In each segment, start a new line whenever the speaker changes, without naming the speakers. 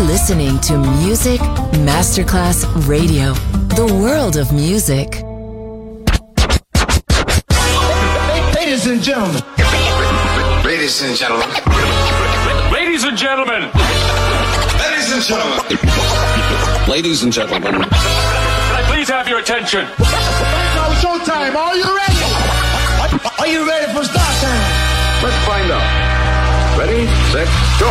listening to Music Masterclass Radio, the world of music.
Ladies and gentlemen.
Ladies and gentlemen.
Ladies and gentlemen.
Ladies and gentlemen. Ladies and gentlemen.
Can I please have your attention?
Now it's showtime. Are you ready? Are you ready for start time?
Let's find out. Ready, set, go.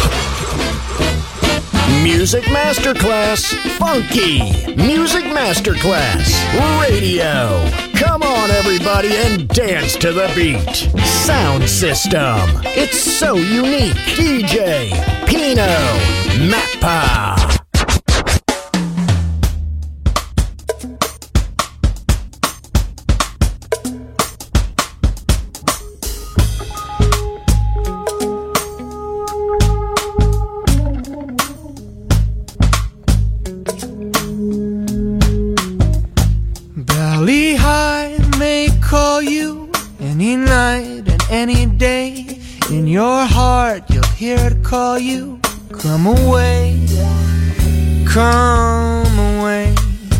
Music Masterclass Funky. Music Masterclass Radio. Come on, everybody, and dance to the beat. Sound system. It's so unique. DJ Pino Mappa.
Valley High may call you any night and any day. In your heart you'll hear it call you. Come away, come away.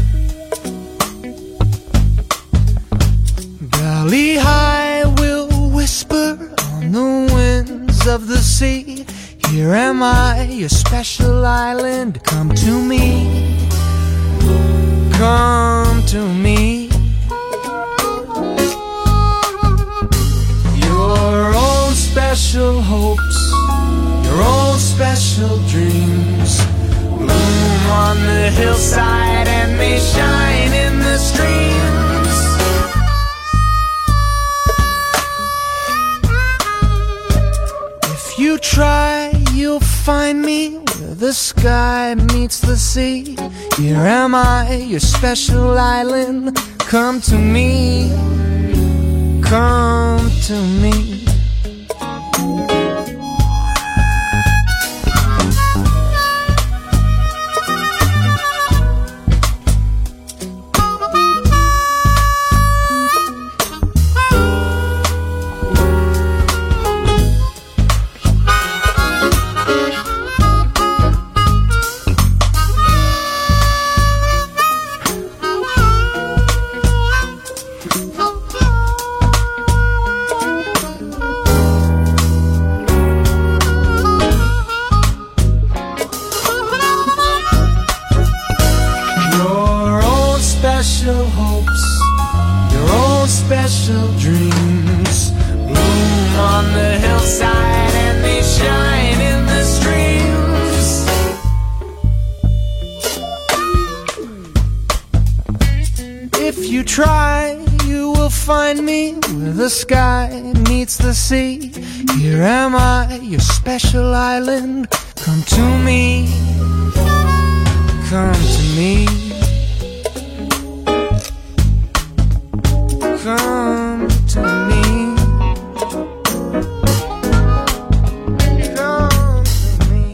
Valley High will whisper on the winds of the sea. Here am I, your special island. Come to me, come to me. Your own special hopes, your own special dreams bloom on the hillside and may shine in the streams. If you try, you'll find me where the sky meets the sea. Here am I, your special island. Come to me, come to me. Special hopes, your own special dreams bloom on the hillside and they shine in the streams. If you try, you will find me where the sky meets the sea. Here am I, your special island. Come to me, come to me. Come to me. Come to me.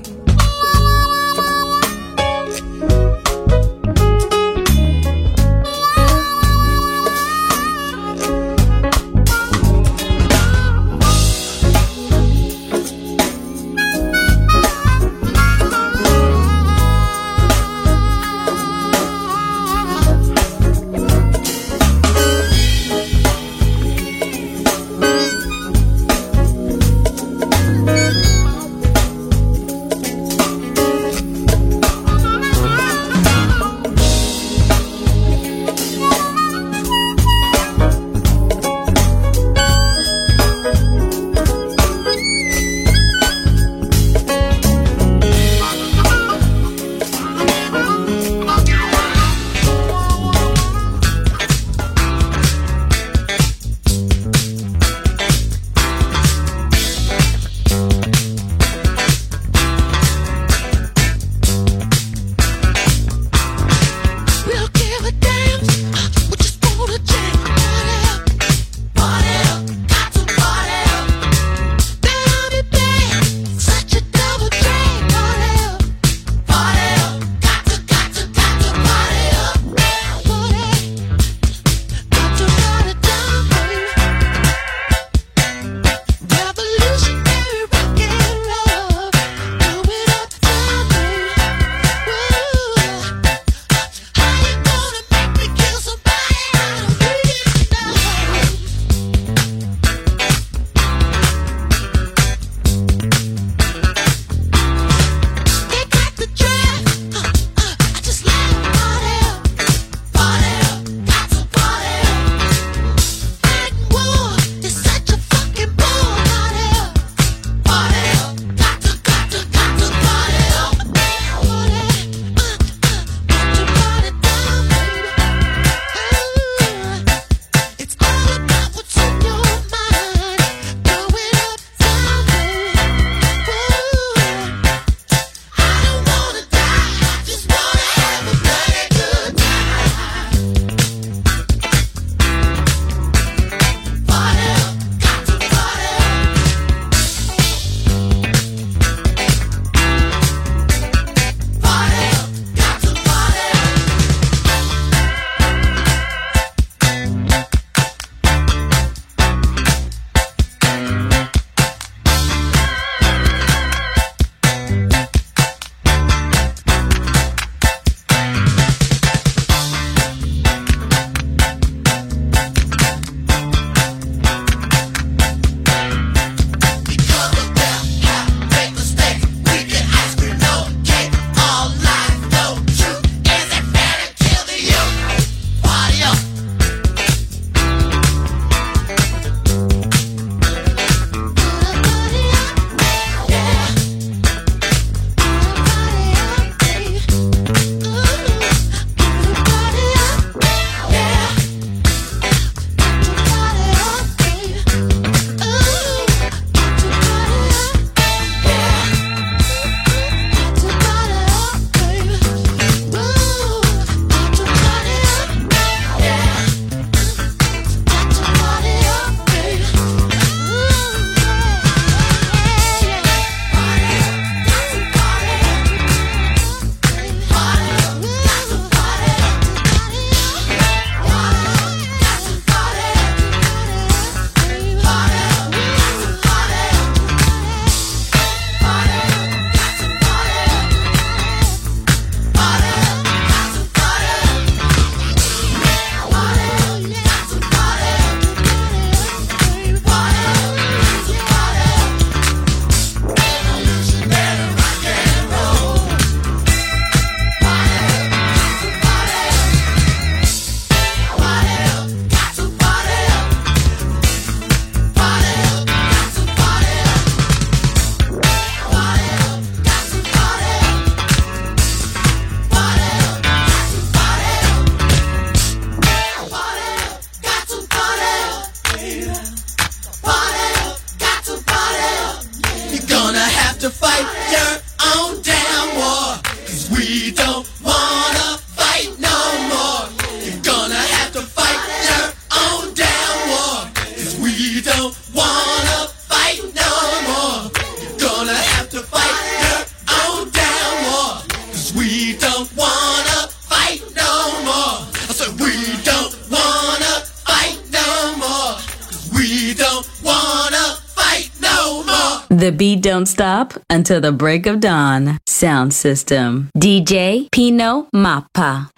fight your own damn war. 'Cause we don't wanna fight no more. You're gonna have to fight your own damn war. 'Cause we don't wanna fight no more. You're gonna have to fight your own damn war. 'Cause we don't wanna fight no more. I said we don't wanna fight no more. 'Cause we don't wanna fight no more.
The beat don't stop until the break of dawn. Sound system. DJ Pino Mappa.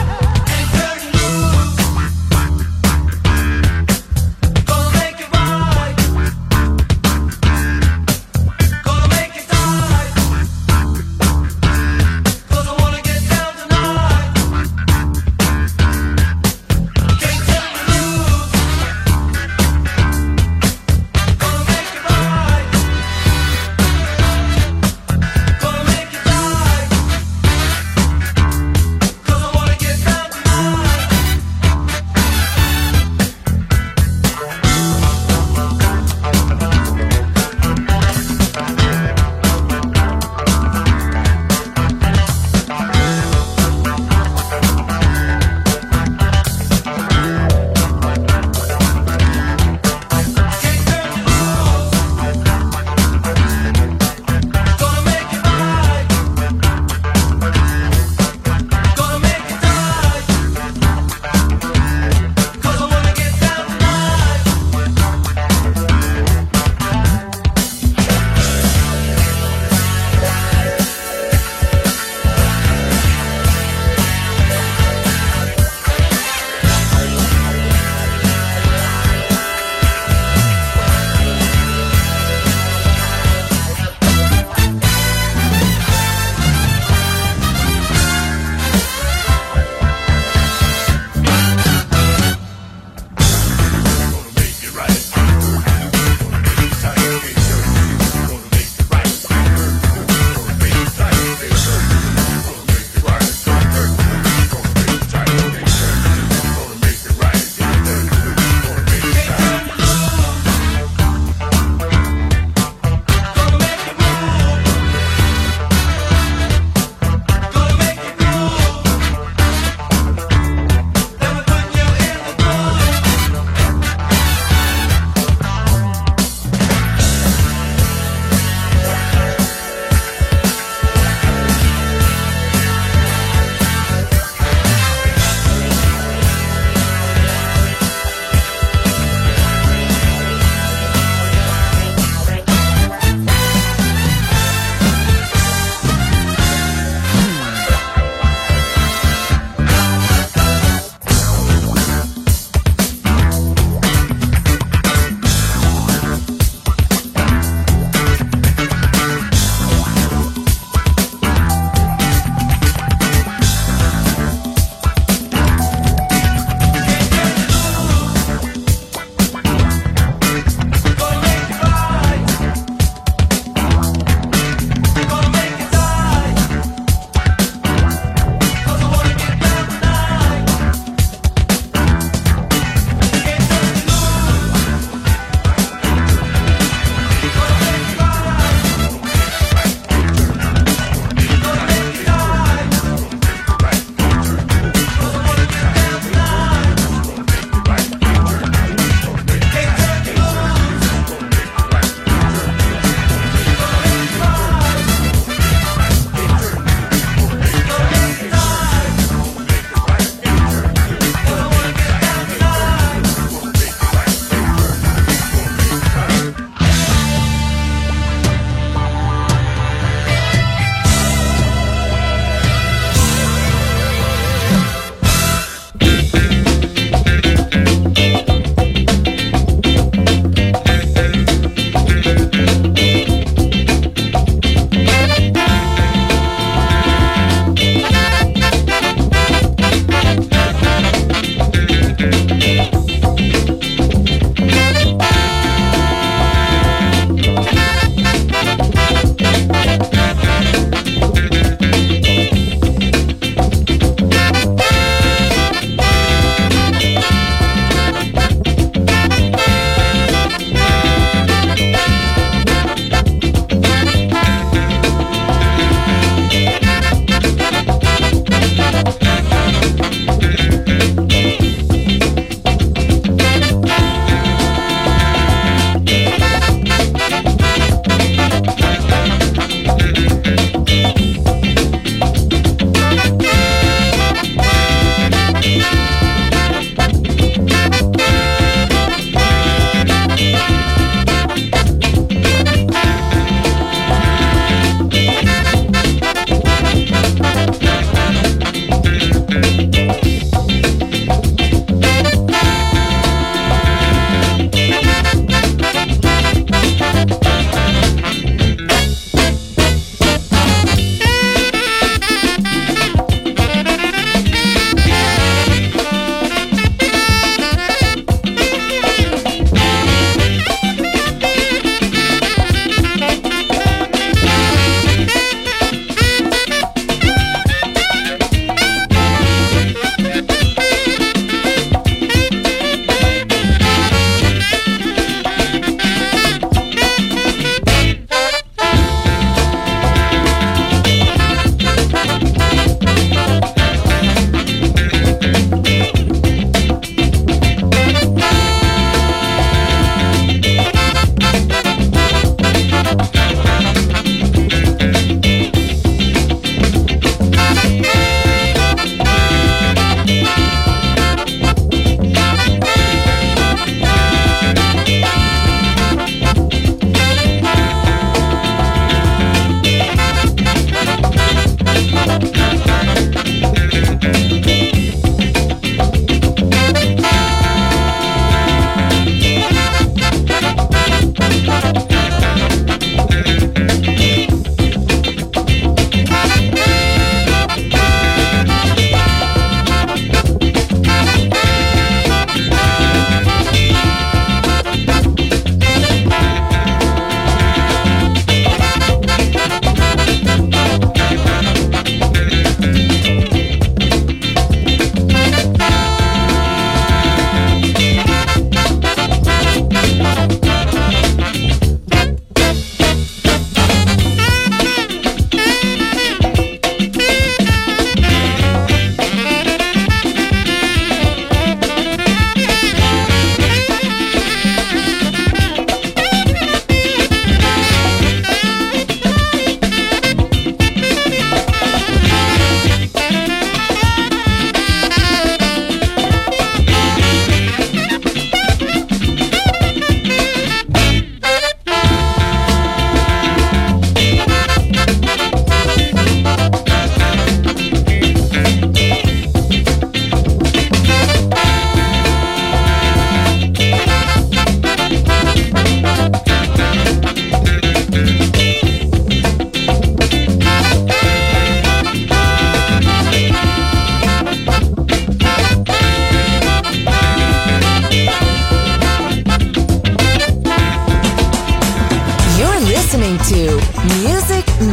Gonna make it right.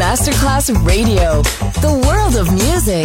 Masterclass Radio, the world of music.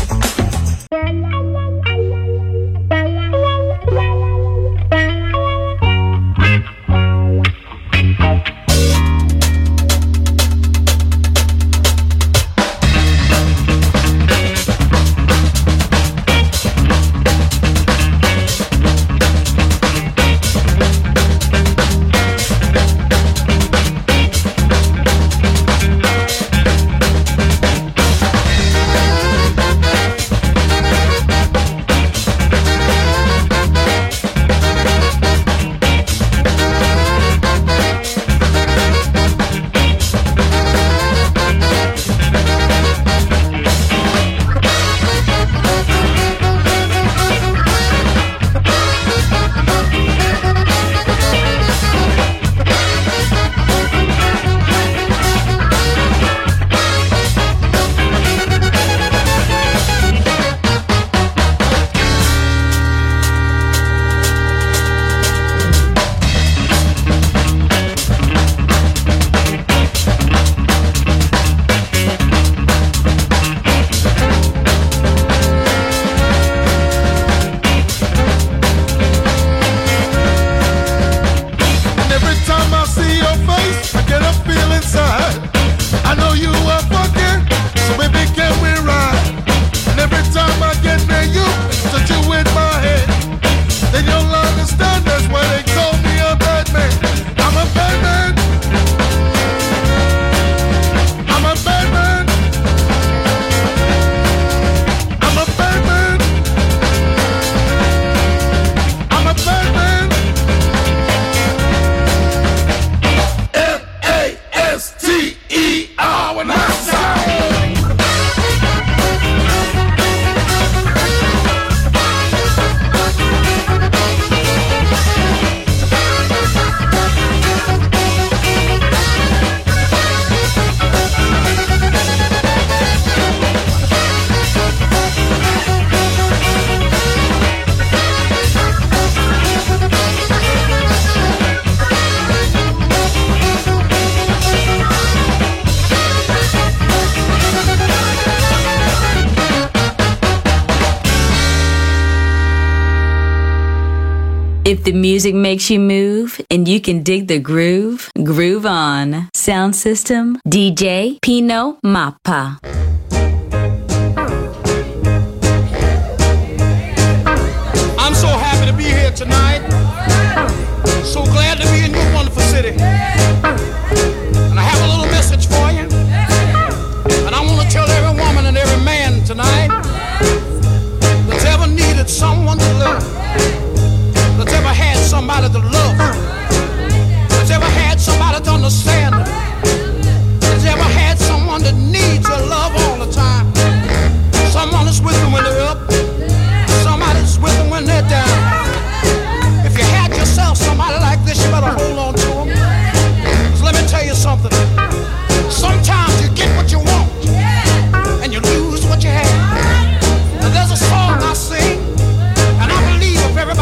If the music makes you move and you can dig the groove, groove on. Sound system, DJ Pino Mappa.
I'm so happy to be here tonight. So glad to be in your wonderful city. And I have a little message for you. And I want to tell every woman and every man tonight that's ever needed someone to love, that's ever had somebody to love, that's ever had somebody to understand, that's ever had someone that needs your love all the time. Someone that's with them when they're up, somebody's with them when they're down. If you had yourself somebody like this, you better hold on to them. 'Cause let me tell you something. Sometimes you get what you want and you lose what you have. And there's a song I sing, and I believe if everybody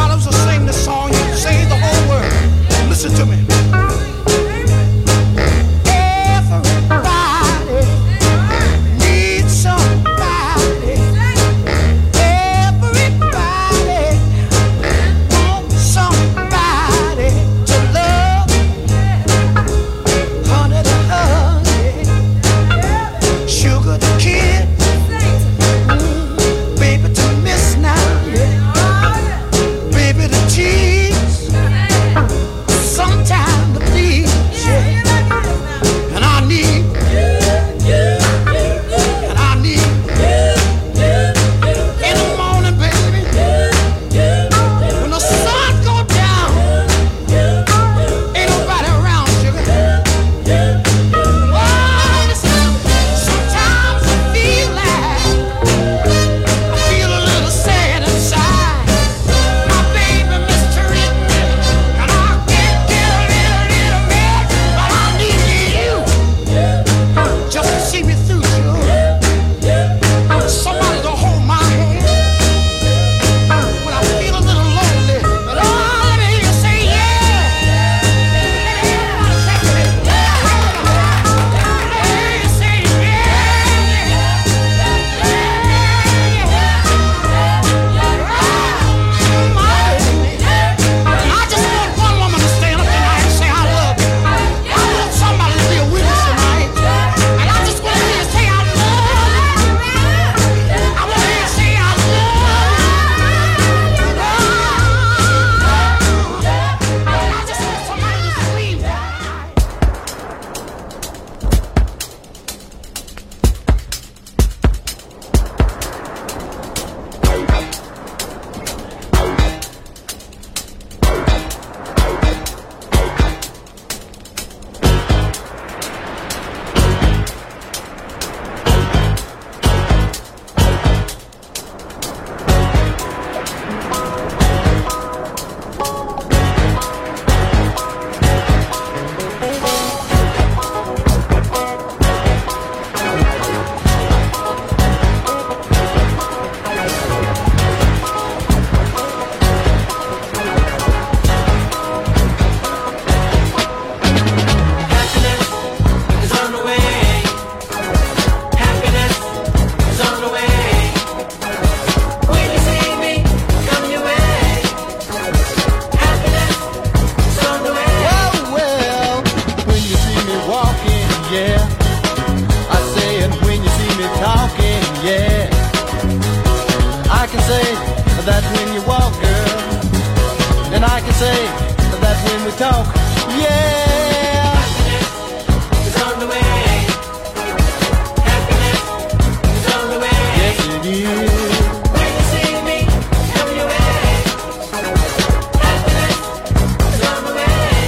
say, that's when we talk. Yeah.
Happiness is on the way. Happiness is on the way.
Yes, it is.
When you see me, come your way. Happiness is on the way.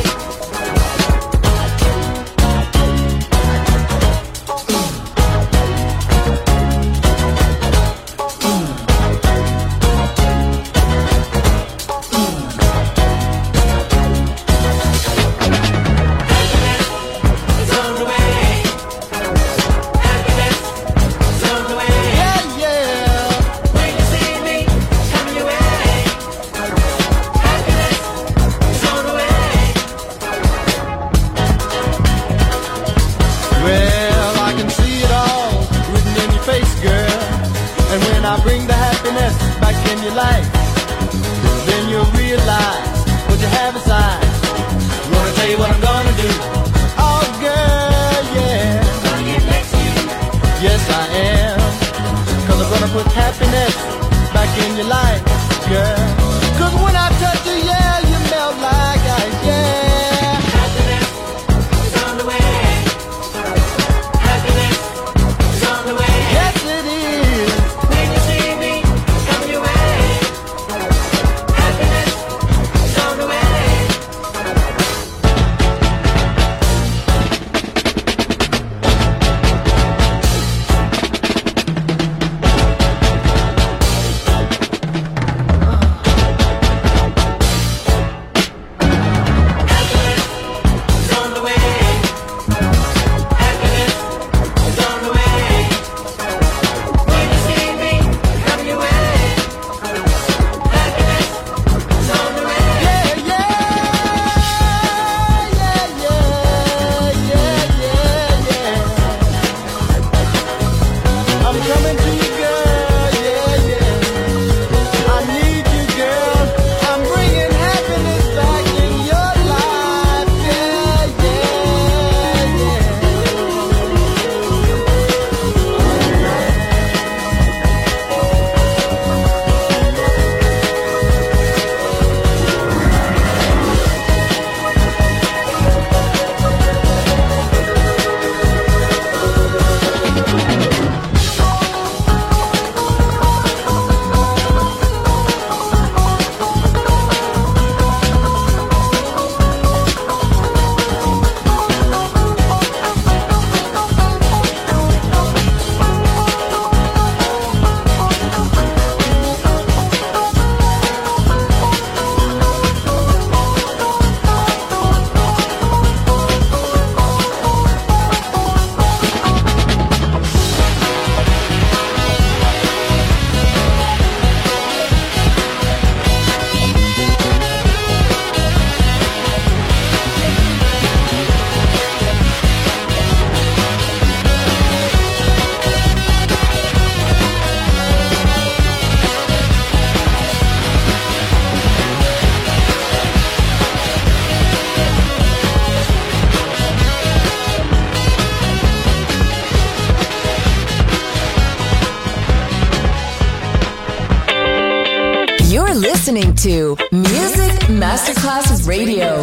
Listening to Music Masterclass Radio.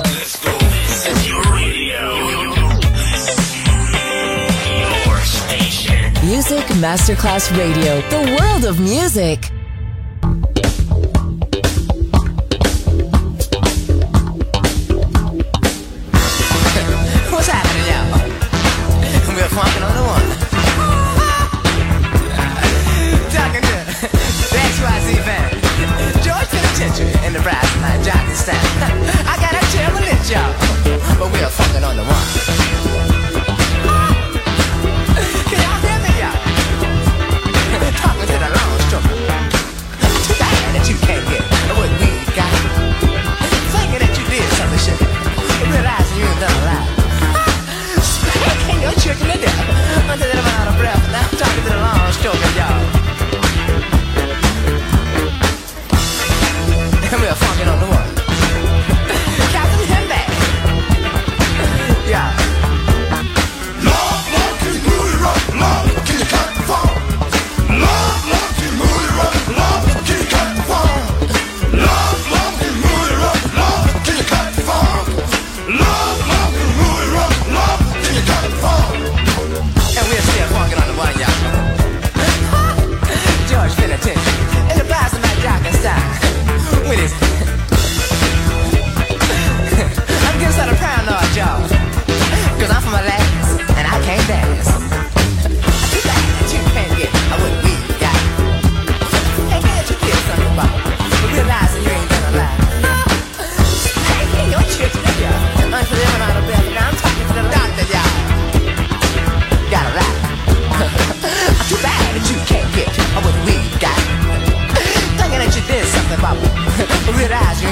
Your station.
Music Masterclass Radio. The world of music.
What's happening, y'all? We're funkin' on the one. Talking to the XYZ band. George Penitentiary and the brass line, Johnny Stan. I gotta tell the list, y'all, but we're fucking on the one. Can y'all hear me, y'all? Talking to the long stroke. Too bad that you can't get what we got. Thinking that you did something shit, realizing you ain't done a lot. Spanking your chicken to death until they're out of breath. Now I'm talking to the long stroke, y'all. And we're funkin' on the one. Captain Hemback. Yeah.
Love, love, can you move it right? Love, can you cut the phone? Love, love, can you move it right? Love, can you cut the phone? Love, love, can you move it right? Love,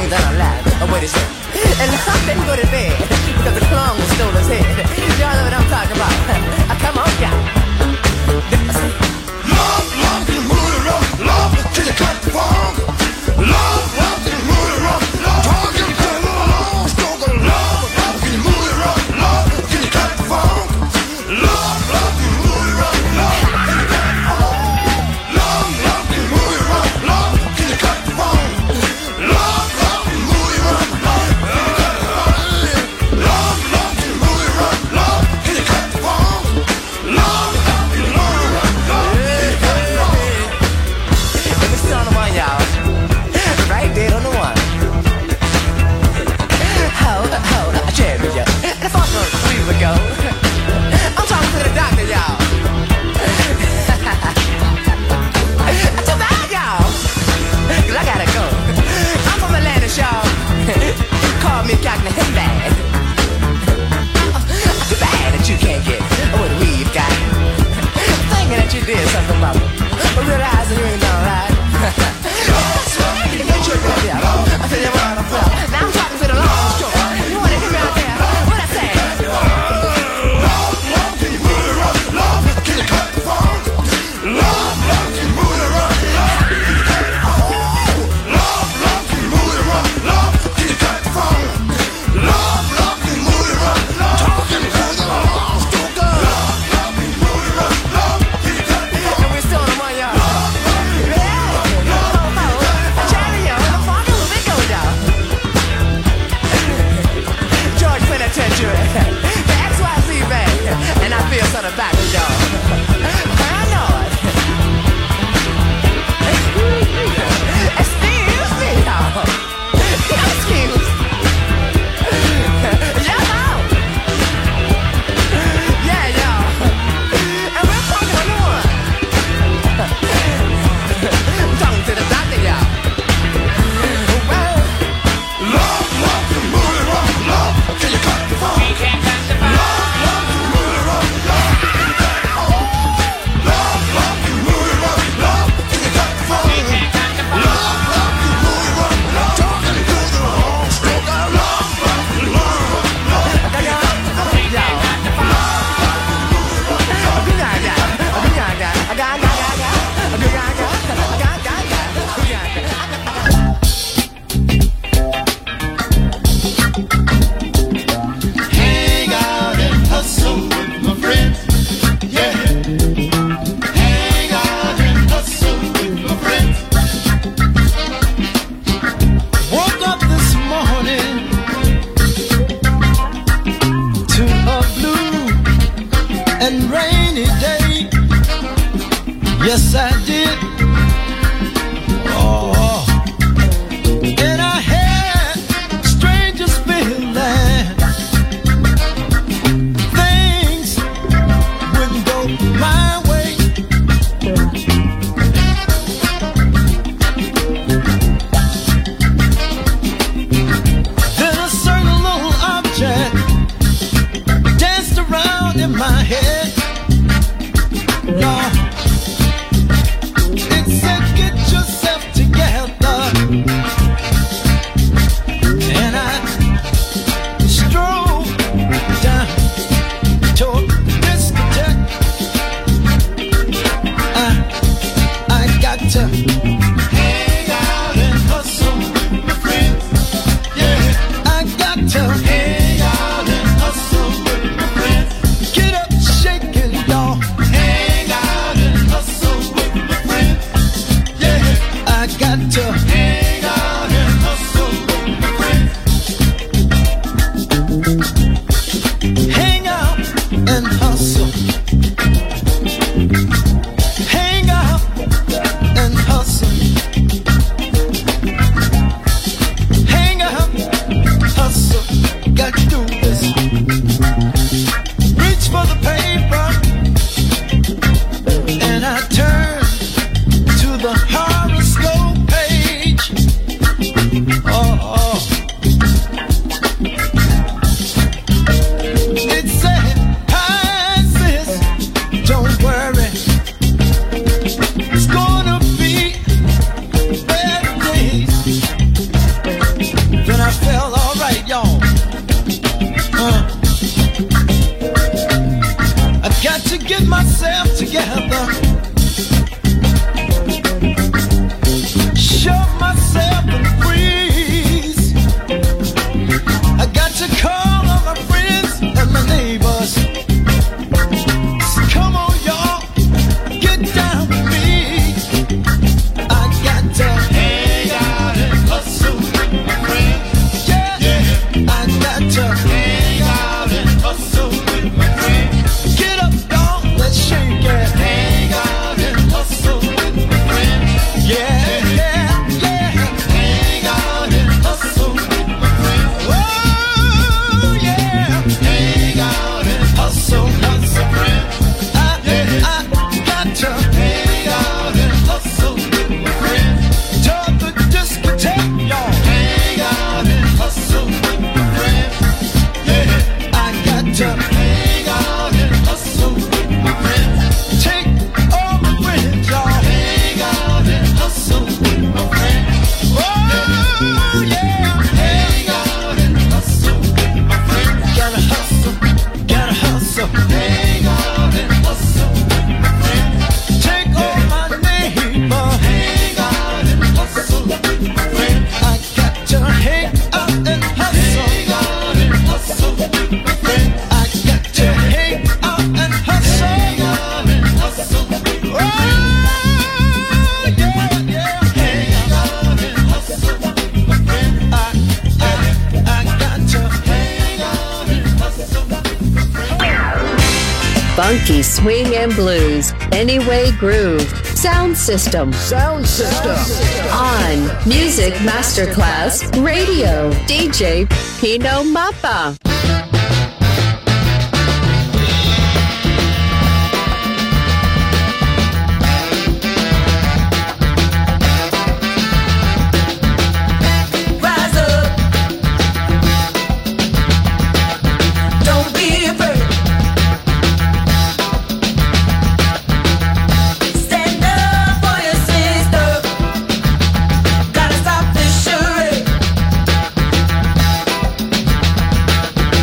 means that I'm alive. Oh, wait a second. And I didn't go to bed because the clown stole his head. Y'all know what I'm talking about. Come on, y'all.
Love, love, can you move it up? Love, can you cut the funk? Love, love, can you move it up? Love, talking to the long stroke of love. Love, can you move it up? Love, can you cut the funk? Love, love, can you move it up? Love, can you cut the funk? Love, love, can you move it up? Love, can you cut the funk? Love, love, can you move it up? Love, love, love, can you move it up? Love, can you cut the funk? Love, love, can you move it up? Love, can you cut the funk?
Let me start on one, y'all. Right there on the one. I cherry ya. The fuck was 3 years ago. I'm talking to the doctor, y'all. Too bad, y'all. 'Cause I gotta go. I'm from Atlanta, y'all. Call me Captain Himbag. Too bad that you can't get what we've got. Thinking that you did something about it, but realizing you ain't done right. I tell you what, now I'm talking to the long stroke. You wanna hear me out there? What I say?
Love, love, can you move it up? Love, can you cut the funk? Love, love, can you move it up? Love, can you cut the funk? Love, love, can you move it up? Love, can you cut the funk? Love, love, can you move it up? Love, talking to the long stroke. Love, love, can you move it up? Love, can you cut the funk?
And we're still on the one, y'all. George Penitentiary, the XYZ Bank, and I feel sort of back with y'all. I know it. Excuse me, y'all. Excuse. Y'all. Yeah, y'all. And we're talking on the one. I'm talking to the doctor, y'all.
Love, love, can you move it up? Love, can you cut the funk? Love, love, can you move it up? Love, can you cut the funk? Love, love, can you move it up? Love, can you cut the funk? Love, love, can you move it up? Love, talking to the long stroke. Love, love, can you move it up? Love, can you cut the funk?
Hang out and hustle with my friends, yeah. Hang out and hustle with my friends. Woke up this morning to a blue and rainy day. Yes, I did. Oh, and I had strangest feeling. Things wouldn't go my way. Then a certain little object danced around in my head. Lord, it said, get yourself together. And I strode down toward the discotheque. I got to hang out and hustle with my friends. Yeah, I got to hang out and hustle with my friends. Get up, shake it, y'all. Hang out and hustle with my friends. Yeah, I got to hang out and hustle with my friends. Hang out and hustle. Hang out and hustle. Hang out, hustle. felt alright, y'all. I got to get myself together. Show myself and freeze. I got to call on my friends and my neighbors. So come on, y'all, get down with me. I got to hang out and hustle with my friends. Yeah, yeah. I got to hang out and hustle with my friends. Get up, y'all, let's shake it. Hang out and hustle with my friends. Yeah.
Funky swing and blues, Anyway Groove, Sound System.
Sound System.
On Music Masterclass Radio, DJ Pino Mappa.
Gotta stop this charade.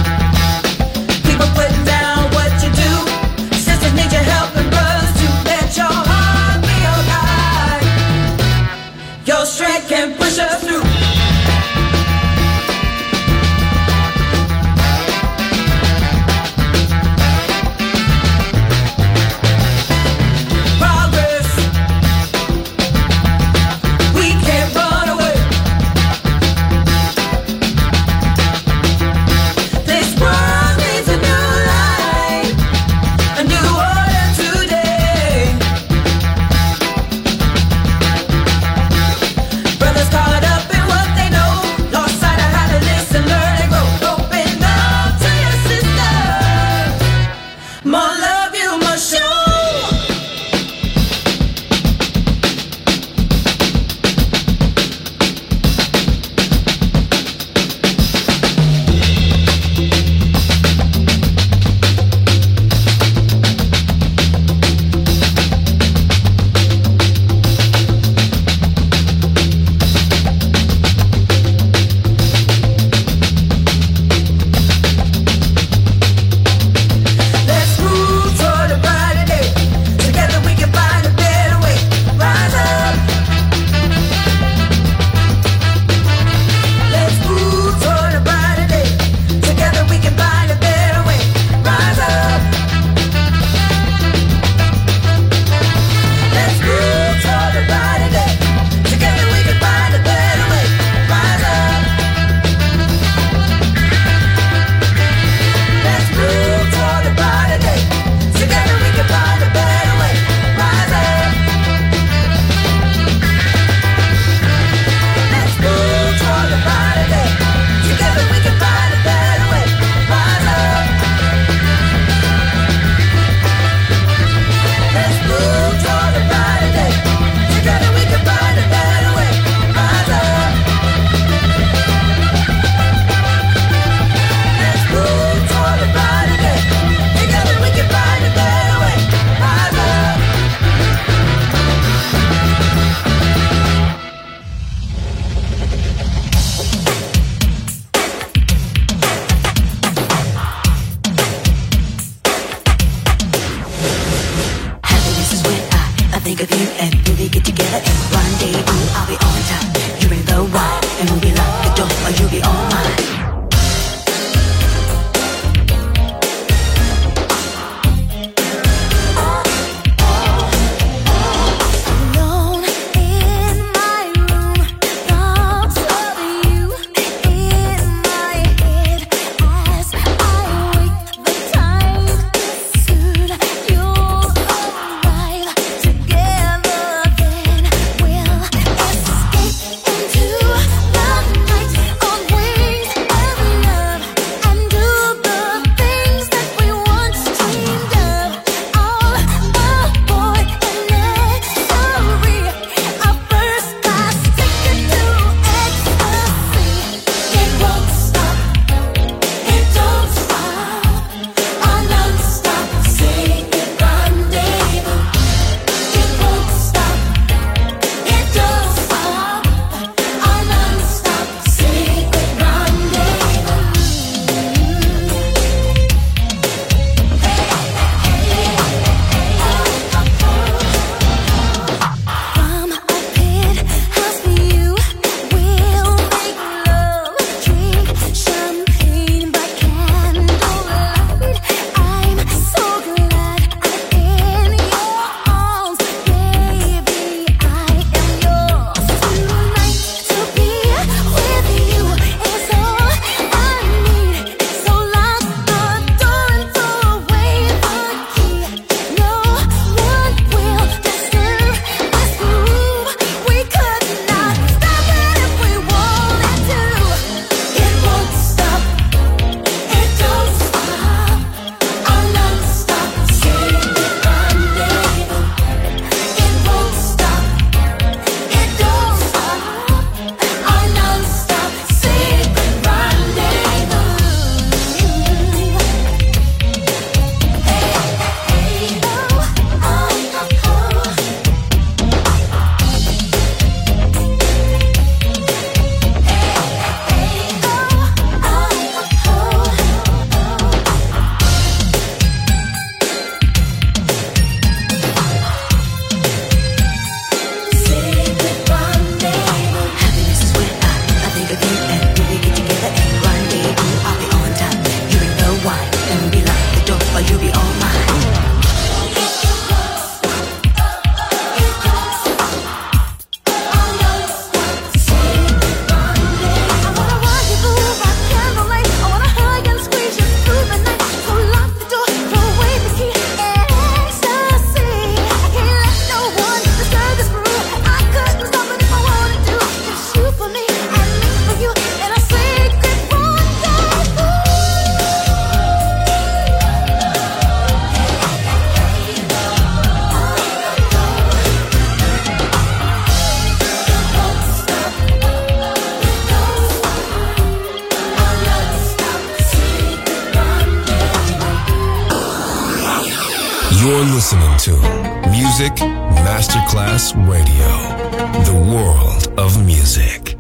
You're listening to Music Masterclass Radio, the world of music.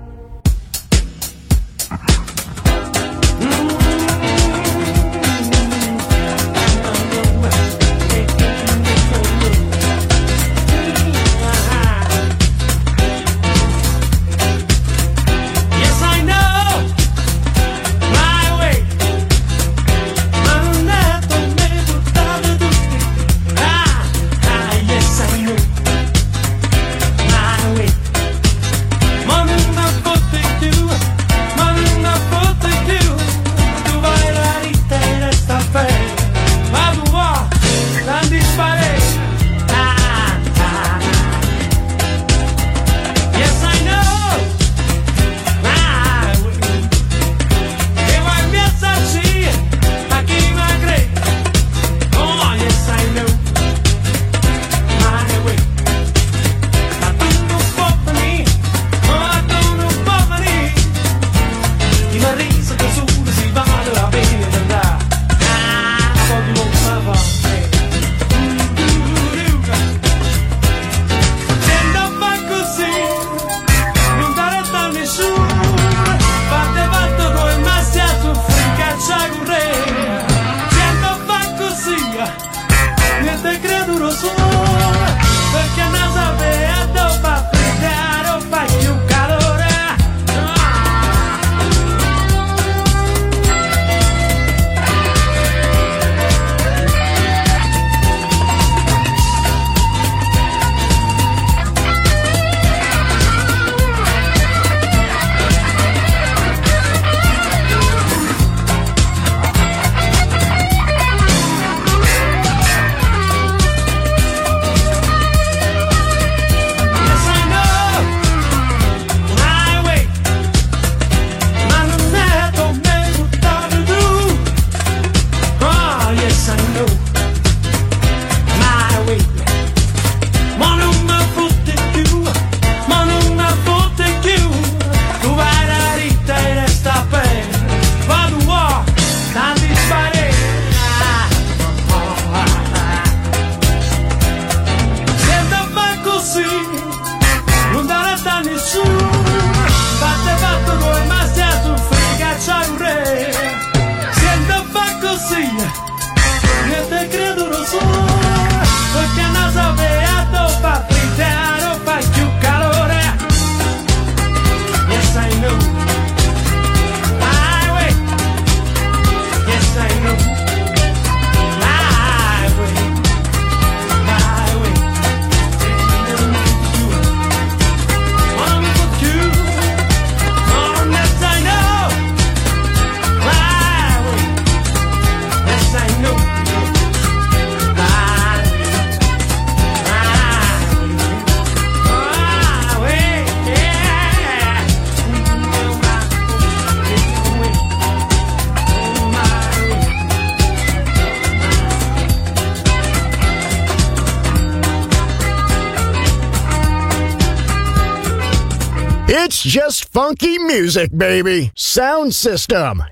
It's just funky music, baby. Sound System,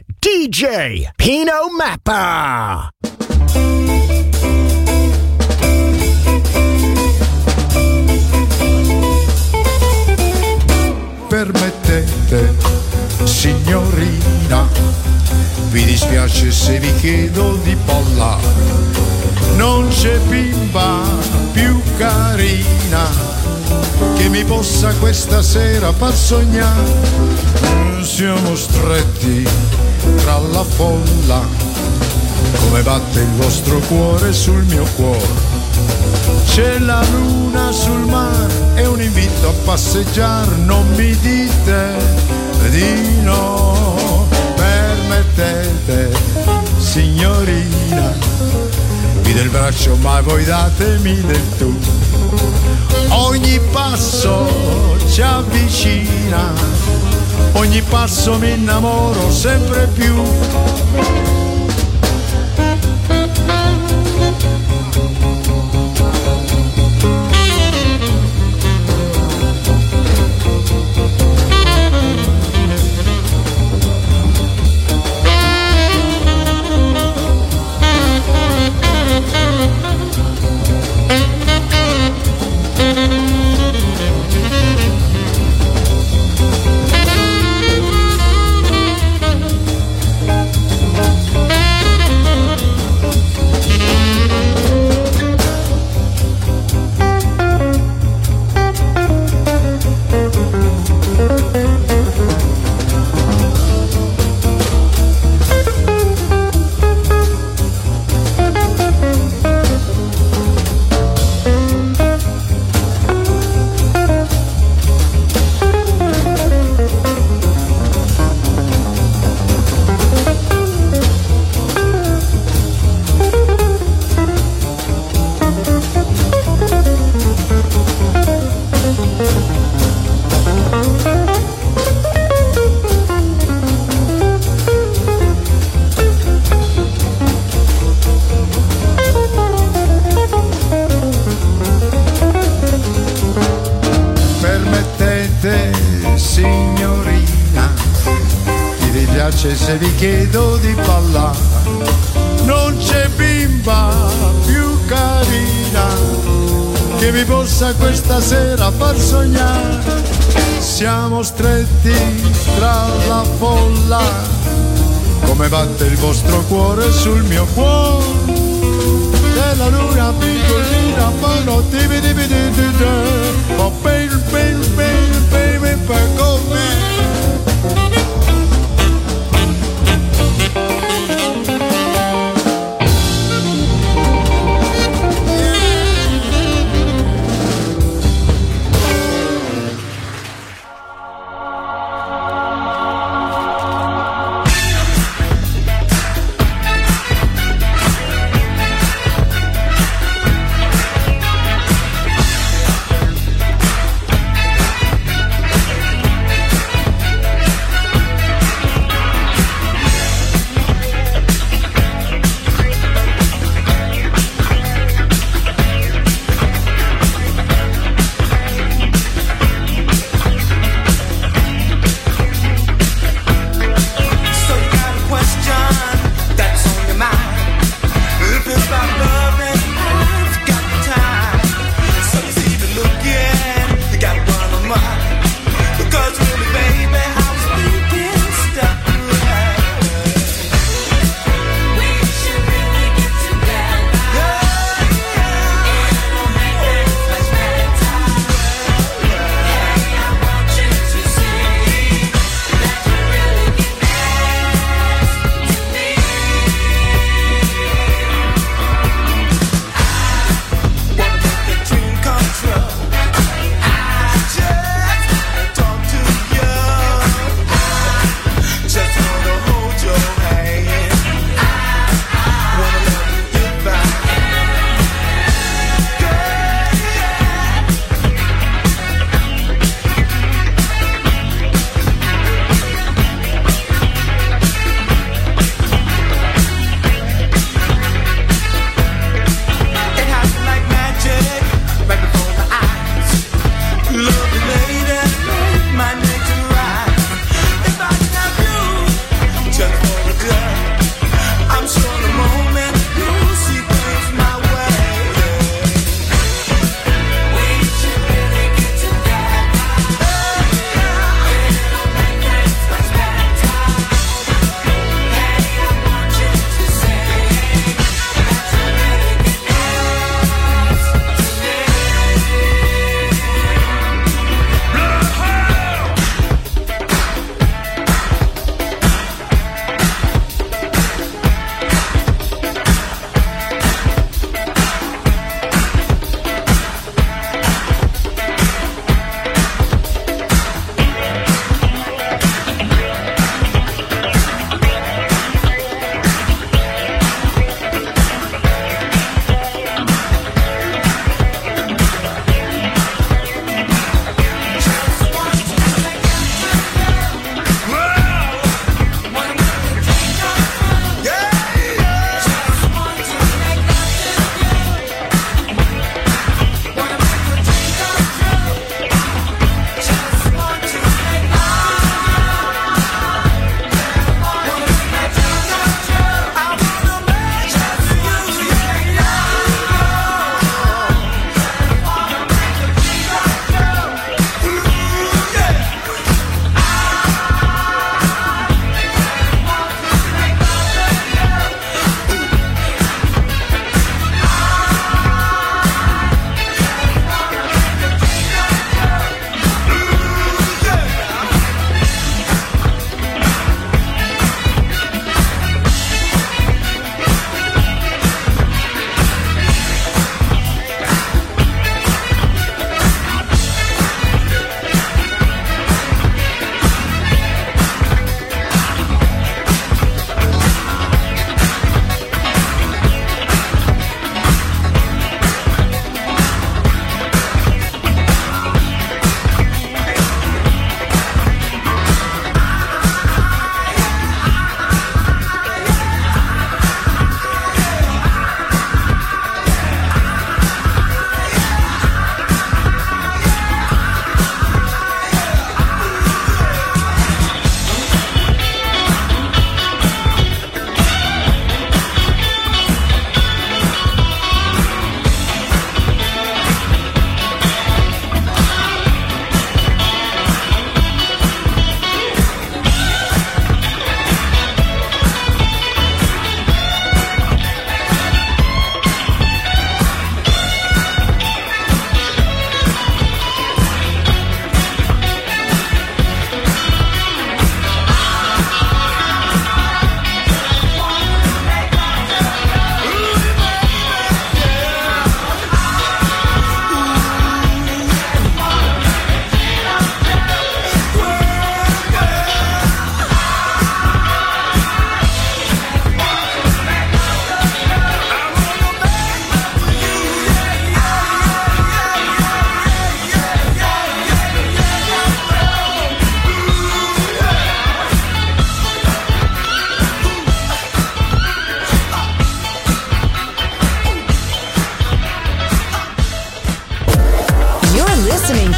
DJ Pino Mappa.
Permettete, signorina, vi dispiace se vi chiedo di ballare. Non c'è bimba più carina che mi possa questa sera far sognare. Siamo stretti tra la folla, come batte il vostro cuore sul mio cuore. C'è la luna sul mare, è un invito a passeggiare, non mi dite di no. Permettete, signorina, vi do il braccio ma voi datemi del tu. Ogni passo ci avvicina, ogni passo mi innamoro sempre più. piace se vi chiedo di ballare. Non c'è bimba più carina che mi possa questa sera far sognare. Siamo stretti tra la folla, come batte il vostro cuore sul mio cuore. Della luna piccolina, fanno tibi tibi tibi tibi. Oh baby, baby, baby, baby, back on me.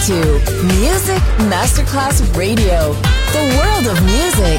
to Music Masterclass Radio, the world of music.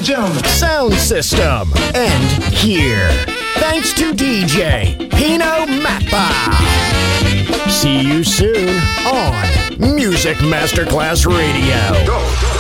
and gentlemen.
Sound system. And here. Thanks to DJ Pino Mappa. See you soon on Music Masterclass Radio.
Go.